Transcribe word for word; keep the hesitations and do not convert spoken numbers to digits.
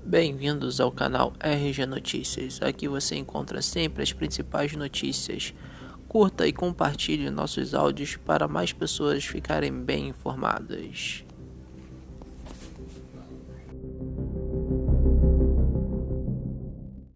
Bem-vindos ao canal R G Notícias. Aqui você encontra sempre as principais notícias. Curta e compartilhe nossos áudios para mais pessoas ficarem bem informadas.